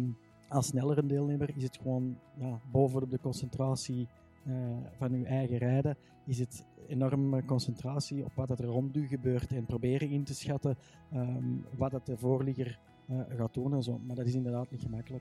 als snellere deelnemer is het gewoon bovenop de concentratie van uw eigen rijden, is het enorme concentratie op wat er rond u gebeurt en proberen in te schatten wat het de voorligger gaat doen en zo. Maar dat is inderdaad niet gemakkelijk.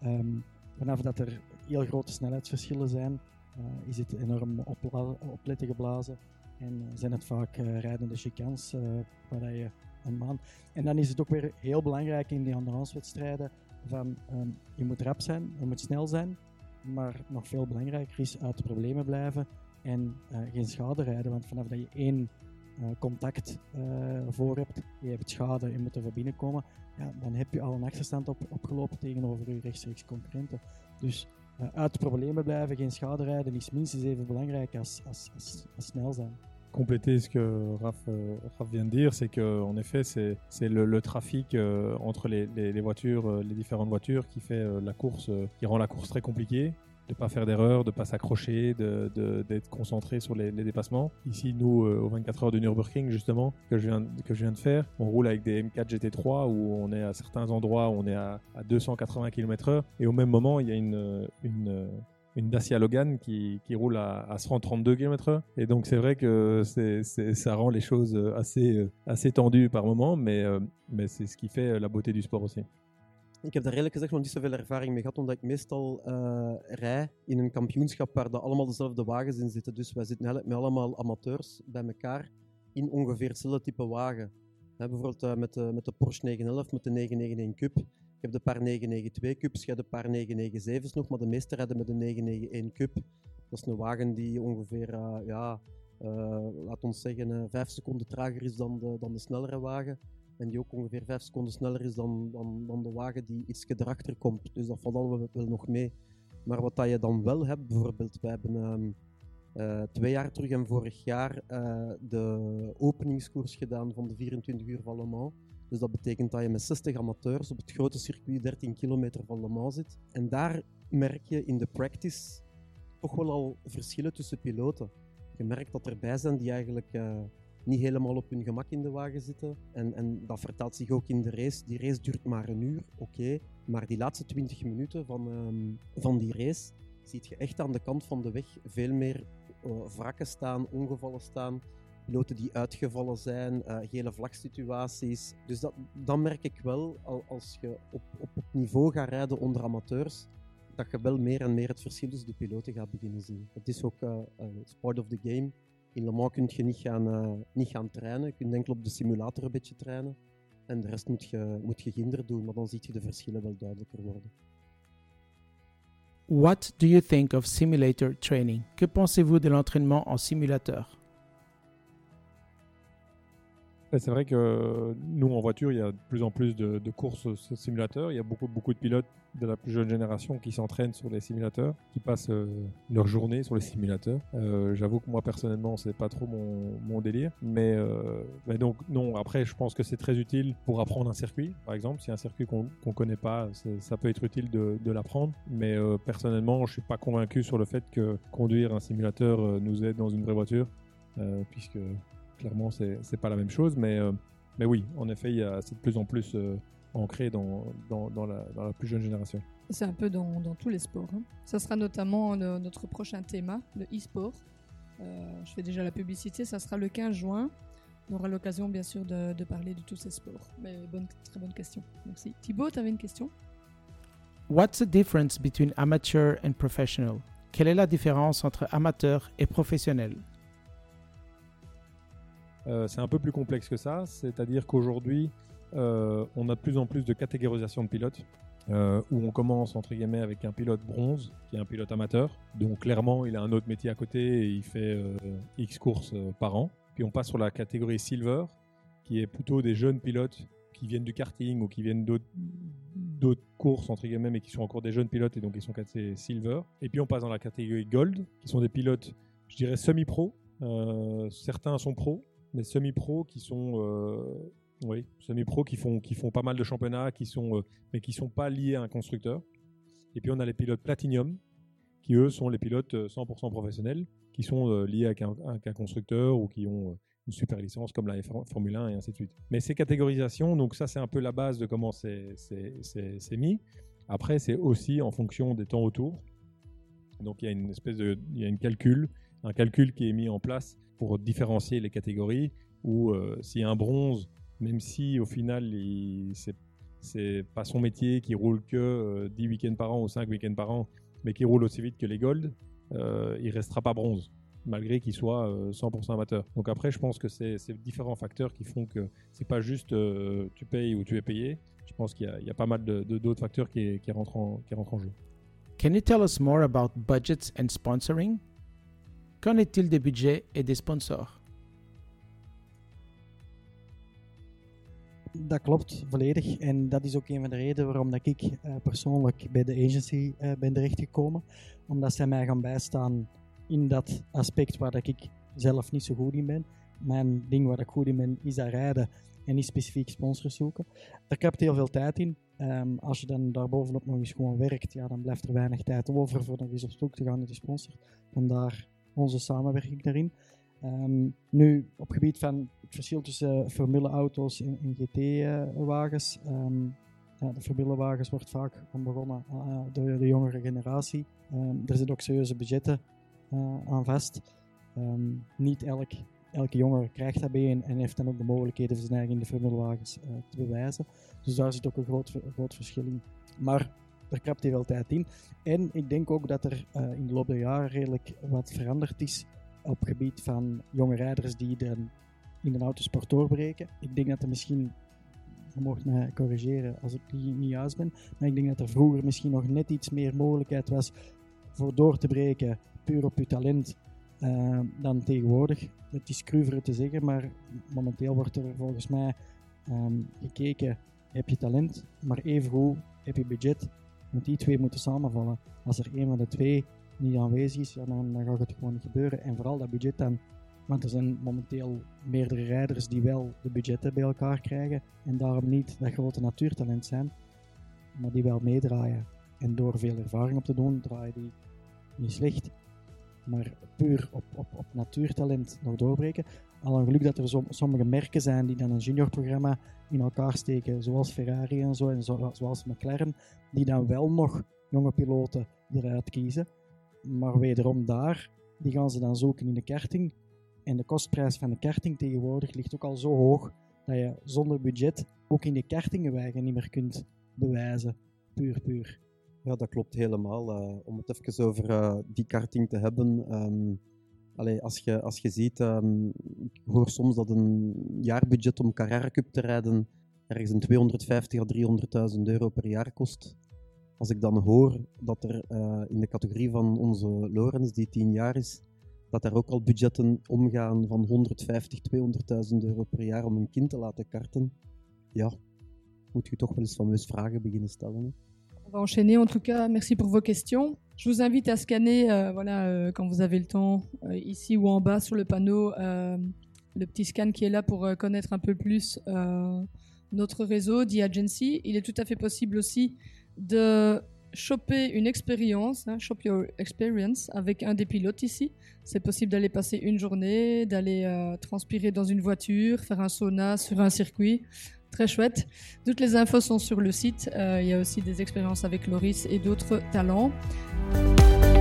Vanaf dat er heel grote snelheidsverschillen zijn, is het enorm opletten geblazen en zijn het vaak rijdende chicanes waar je een maan. En dan is het ook weer heel belangrijk in die endurance-wedstrijden van je moet rap zijn, je moet snel zijn, maar nog veel belangrijker is uit de problemen blijven en geen schade rijden, want vanaf dat je één contact voor hebt, je hebt schade, je moet er van binnenkomen, dan heb je al een achterstand opgelopen tegenover je rechtstreeks concurrenten. Dus uit de problemen blijven, geen schade rijden is minstens even belangrijk als snel zijn. Compléter ce que Raph vient de dire, c'est que en effet c'est le trafic entre les voitures, les différentes voitures qui fait la course, qui rend la course très compliquée. De pas faire d'erreur, de pas s'accrocher, d'être concentré sur les dépassements. Ici, nous, aux 24 heures du Nürburgring, justement, que je viens de faire, on roule avec des M4 GT3 où on est à certains endroits où on est à 280 km/h et au même moment, il y a une Dacia Logan qui roule à 132 km/h. Et donc c'est vrai que ça rend les choses assez tendues par moment, mais c'est ce qui fait la beauté du sport aussi. Ik heb daar eerlijk gezegd nog niet zoveel ervaring mee gehad, omdat ik meestal rij in een kampioenschap waar allemaal dezelfde wagens in zitten. Dus wij zitten eigenlijk met allemaal amateurs bij elkaar in ongeveer hetzelfde type wagen. Bijvoorbeeld met de Porsche 911, met de 991 Cup. Je hebt een paar 992 Cups, je hebt een paar 997's nog, maar de meeste rijden met de 991 Cup. Dat is een wagen die ongeveer, laat ons zeggen, 5 seconden trager is dan de snellere wagen. En die ook ongeveer 5 seconden sneller is dan de wagen die iets erachter komt. Dus dat valt allemaal wel nog mee. Maar wat dat je dan wel hebt, bijvoorbeeld, wij hebben 2 jaar terug en vorig jaar de openingskoers gedaan van de 24 uur van Le Mans. Dus dat betekent dat je met 60 amateurs op het grote circuit 13 kilometer van Le Mans zit. En daar merk je in de practice toch wel al verschillen tussen piloten. Je merkt dat er erbij zijn die eigenlijk niet helemaal op hun gemak in de wagen zitten. En dat vertaalt zich ook in de race. Die race duurt maar 1 uur, oké. Maar die laatste 20 minuten van die race zie je echt aan de kant van de weg veel meer wrakken staan, ongevallen staan. Piloten die uitgevallen zijn, gele vlagsituaties. Dus dat merk ik wel als je op niveau gaat rijden onder amateurs, dat je wel meer en meer het verschil tussen de piloten gaat beginnen zien. Het is ook part of the game. In Le Mans kun je niet gaan trainen, je kunt enkel op de simulator een beetje trainen. En de rest moet je ginder doen, maar dan zie je de verschillen wel duidelijker worden. What do you think of simulator training? Que pensez-vous de l'entraînement en simulateur? C'est vrai que nous, en voiture, il y a de plus en plus de courses simulateurs. Il y a beaucoup de pilotes de la plus jeune génération qui s'entraînent sur les simulateurs, qui passent leur journée sur les simulateurs. J'avoue que moi, personnellement, c'est pas trop mon délire. Mais donc, non, après, je pense que c'est très utile pour apprendre un circuit. Par exemple, si un circuit qu'on connaît pas, ça peut être utile de l'apprendre. Mais personnellement, je suis pas convaincu sur le fait que conduire un simulateur nous aide dans une vraie voiture, puisque clairement, c'est pas la même chose, mais oui, en effet, c'est de plus en plus ancré dans la plus jeune génération. C'est un peu dans tous les sports. Hein. Ça sera notamment notre prochain thème, le e-sport. Je fais déjà la publicité, ça sera le 15 juin. On aura l'occasion, bien sûr, de parler de tous ces sports. Mais très bonne question. Merci. Thibaut, tu avais une question? What's the difference between amateur and professional? Quelle est la différence entre amateur et professionnel? C'est un peu plus complexe que ça, c'est-à-dire qu'aujourd'hui, on a de plus en plus de catégorisation de pilotes, où on commence entre guillemets avec un pilote bronze, qui est un pilote amateur, donc clairement il a un autre métier à côté et il fait X courses par an. Puis on passe sur la catégorie silver, qui est plutôt des jeunes pilotes qui viennent du karting ou qui viennent d'autres courses entre guillemets, mais qui sont encore des jeunes pilotes et donc ils sont classés silver. Et puis on passe dans la catégorie gold, qui sont des pilotes, je dirais semi-pro, certains sont pros, mais semi-pro qui sont semi-pro qui font pas mal de championnats, mais qui sont pas liés à un constructeur. Et puis on a les pilotes platinum qui eux sont les pilotes 100% professionnels, qui sont liés avec un constructeur ou qui ont une super licence comme la Formule 1 et ainsi de suite. Mais ces catégorisations, donc ça c'est un peu la base de comment c'est mis. Après c'est aussi en fonction des temps autour. Donc il y a un calcul qui est mis en place pour différencier les catégories, où s'il y a un bronze, même si au final c'est pas son métier, qui roule que 10 week-ends par an ou 5 week-ends par an, mais qui roule aussi vite que les gold, il restera pas bronze, malgré qu'il soit 100% amateur. Donc après, je pense que c'est différents facteurs qui font que c'est pas juste tu payes ou tu es payé. Je pense qu'il y a pas mal d'autres facteurs qui rentrent en jeu. Can you tell us more about budgets and sponsoring? Qu'en est-il des budgets et des sponsors? Dat klopt volledig en dat is ook een van de redenen waarom dat ik persoonlijk bij de agency ben terechtgekomen. Omdat zij mij gaan bijstaan in dat aspect waar dat ik zelf niet zo goed in ben. Mijn ding waar ik goed in ben is dat rijden en niet specifiek sponsors zoeken. Daar kapt heel veel tijd in. Als je dan daarbovenop nog eens gewoon werkt, ja, dan blijft er weinig tijd over voor nog eens op zoek te gaan naar die sponsor. Vandaar onze samenwerking daarin. Nu, op gebied van het verschil tussen formuleauto's en GT-wagens, De Formule-wagens wordt vaak begonnen door de jongere generatie. Er zitten ook serieuze budgetten aan vast. Niet elke jongere krijgt dat bij en heeft dan ook de mogelijkheden voor zijn eigen in de Formule-wagens te bewijzen. Dus daar zit ook een groot verschil in. Maar er krapt hier wel tijd in. En ik denk ook dat er in de loop der jaren redelijk wat veranderd is op het gebied van jonge rijders die dan in de autosport doorbreken. Ik denk dat er misschien, je mag mij corrigeren als ik niet juist ben, maar ik denk dat er vroeger misschien nog net iets meer mogelijkheid was voor door te breken, puur op je talent, dan tegenwoordig. Het is cru te zeggen, maar momenteel wordt er volgens mij gekeken, heb je talent, maar evengoed heb je budget. Want die twee moeten samenvallen. Als er een van de twee niet aanwezig is, ja, dan gaat het gewoon niet gebeuren. En vooral dat budget dan. Want er zijn momenteel meerdere rijders die wel de budgetten bij elkaar krijgen en daarom niet dat grote natuurtalent zijn, maar die wel meedraaien. En door veel ervaring op te doen, draaien die niet slecht. Maar puur op natuurtalent nog doorbreken. Al een geluk dat er sommige merken zijn die dan een juniorprogramma in elkaar steken, zoals Ferrari en zo, en zoals McLaren, die dan wel nog jonge piloten eruit kiezen. Maar wederom die gaan ze dan zoeken in de karting. En de kostprijs van de karting tegenwoordig ligt ook al zo hoog dat je zonder budget ook in de kartingenwegen niet meer kunt bewijzen. Puur. Ja, dat klopt helemaal. Om het even over die karting te hebben. Als je ziet, ik hoor soms dat een jaarbudget om Carrera Cup te rijden ergens een 250.000 à 300.000 euro per jaar kost. Als ik dan hoor dat er in de categorie van onze Lorenz, die 10 jaar is, dat er ook al budgetten omgaan van 150.000, 200.000 euro per jaar om een kind te laten karten, ja, moet je toch wel eens fameus vragen beginnen stellen. Hè? On va enchaîner en tout cas. Merci pour vos questions. Je vous invite à scanner, quand vous avez le temps, ici ou en bas sur le panneau, le petit scan qui est là pour connaître un peu plus notre réseau d'e-Agency. Il est tout à fait possible aussi de choper une expérience, shop your experience avec un des pilotes ici. C'est possible d'aller passer une journée, d'aller transpirer dans une voiture, faire un sauna sur un circuit. Très chouette. Toutes les infos sont sur le site. Il y a aussi des expériences avec Loris et d'autres talents.